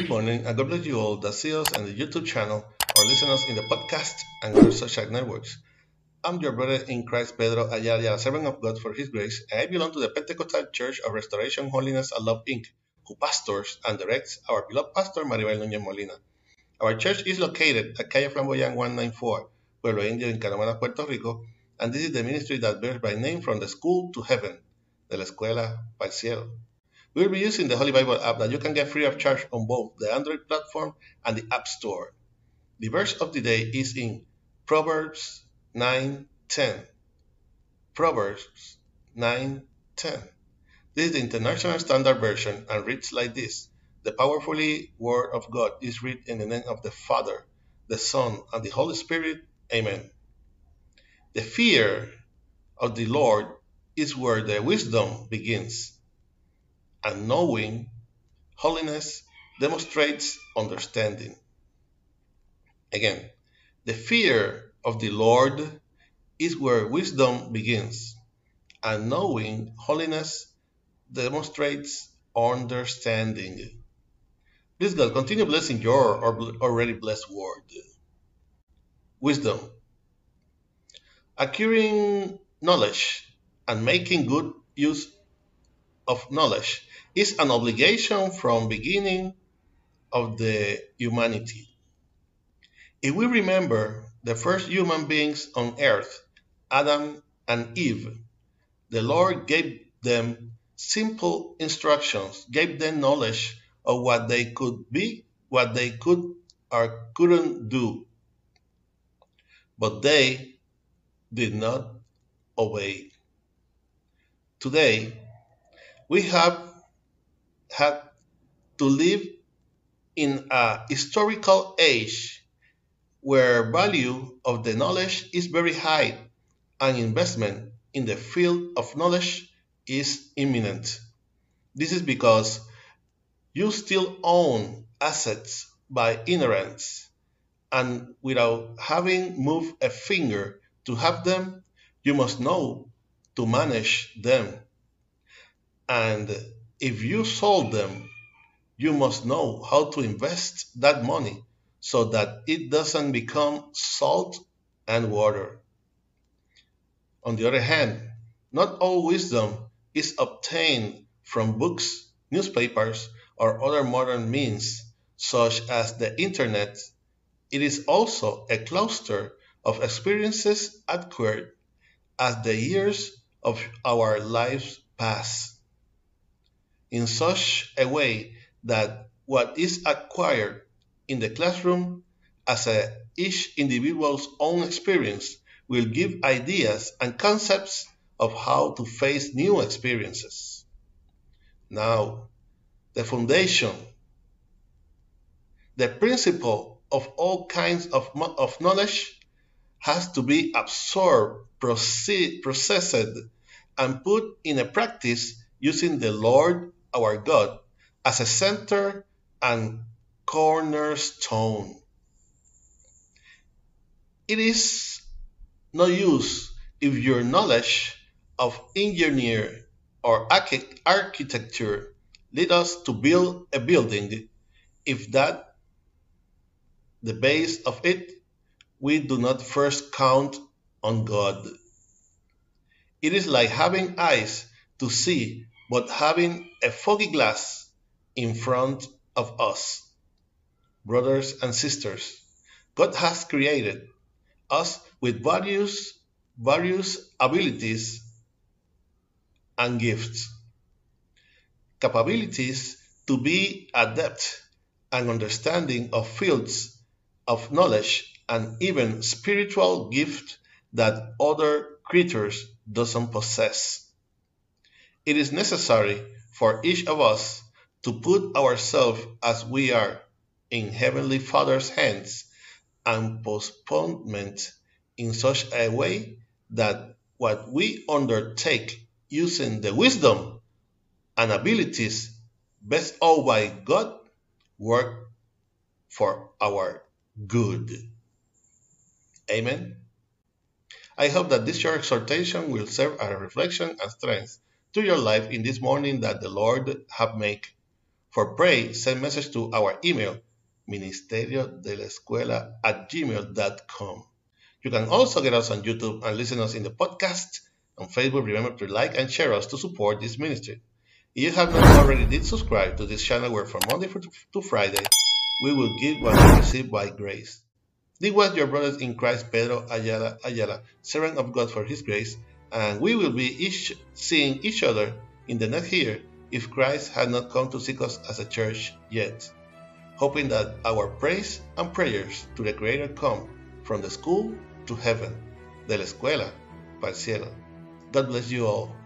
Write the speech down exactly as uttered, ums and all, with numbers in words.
Good morning, and God bless you all that see us on the YouTube channel or listen us in the podcast and other social networks. I'm your brother in Christ, Pedro Ayala, a servant of God for His grace, and I belong to the Pentecostal Church of Restoration, Holiness, and Love, Incorporated, who pastors and directs our beloved pastor, Maribel Núñez Molina. Our church is located at Calle Flamboyant one ninety-four, Pueblo Indio in Canamana, Puerto Rico, and this is the ministry that bears by name From the School to Heaven, de la Escuela para el Cielo. We'll be using the Holy Bible app that you can get free of charge on both the Android platform and the App Store. The verse of the day is in Proverbs nine ten. Proverbs nine ten. This is the International Standard Version and reads like this. The powerfully Word of God is read in the name of the Father, the Son, and the Holy Spirit. Amen. The fear of the Lord is where the wisdom begins, and knowing holiness demonstrates understanding. Again, the fear of the Lord is where wisdom begins, and knowing holiness demonstrates understanding. Please God, continue blessing your already blessed word. Wisdom. Acquiring knowledge and making good use of knowledge is an obligation from beginning of the humanity. If we remember the first human beings on earth, Adam and Eve, the Lord gave them simple instructions, gave them knowledge of what they could be, what they could or couldn't do. But they did not obey. Today, we have had to live in a historical age where value of the knowledge is very high and investment in the field of knowledge is imminent. This is because you still own assets by ignorance, and without having moved a finger to have them, you must know to manage them. And if you sold them, you must know how to invest that money so that it doesn't become salt and water. On the other hand, not all wisdom is obtained from books, newspapers, or other modern means, such as the internet. It is also a cluster of experiences acquired as the years of our lives pass, in such a way that what is acquired in the classroom as a, each individual's own experience will give ideas and concepts of how to face new experiences. Now, the foundation, the principle of all kinds of, of knowledge has to be absorbed, proceed, processed, and put in a practice using the Lord our God as a center and cornerstone. It is no use if your knowledge of engineering or architecture lead us to build a building, if that the base of it, we do not first count on God. It is like having eyes to see, but having a foggy glass in front of us. Brothers and sisters, God has created us with various, various abilities and gifts, capabilities to be adept and understanding of fields of knowledge and even spiritual gifts that other creatures doesn't possess. It is necessary for each of us to put ourselves as we are in Heavenly Father's hands and postponement in such a way that what we undertake using the wisdom and abilities bestowed by God work for our good. Amen. I hope that this short exhortation will serve as a reflection and strength to your life in this morning that the Lord have made. For pray, send message to our email, ministerio de la escuela at gmail dot com. You can also get us on YouTube and listen us in the podcast. On Facebook, remember to like and share us to support this ministry. If you have not already did subscribe to this channel where from Monday to Friday, we will give what we receive by grace. This was your brothers in Christ, Pedro Ayala Ayala, servant of God for his grace, and we will be each seeing each other in the next year if Christ had not come to seek us as a church yet, hoping that our praise and prayers to the Creator come from the school to heaven, de la escuela para el cielo. God bless you all.